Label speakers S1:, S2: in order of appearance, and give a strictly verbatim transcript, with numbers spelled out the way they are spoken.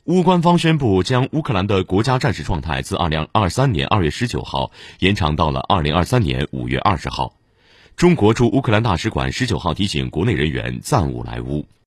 S1: 乌官方宣布将乌克兰的国家战时状态自二零二三年二月十九号延长到了二零二三年五月二十号。中国驻乌克兰大使馆十九号提醒国内人员暂勿来乌。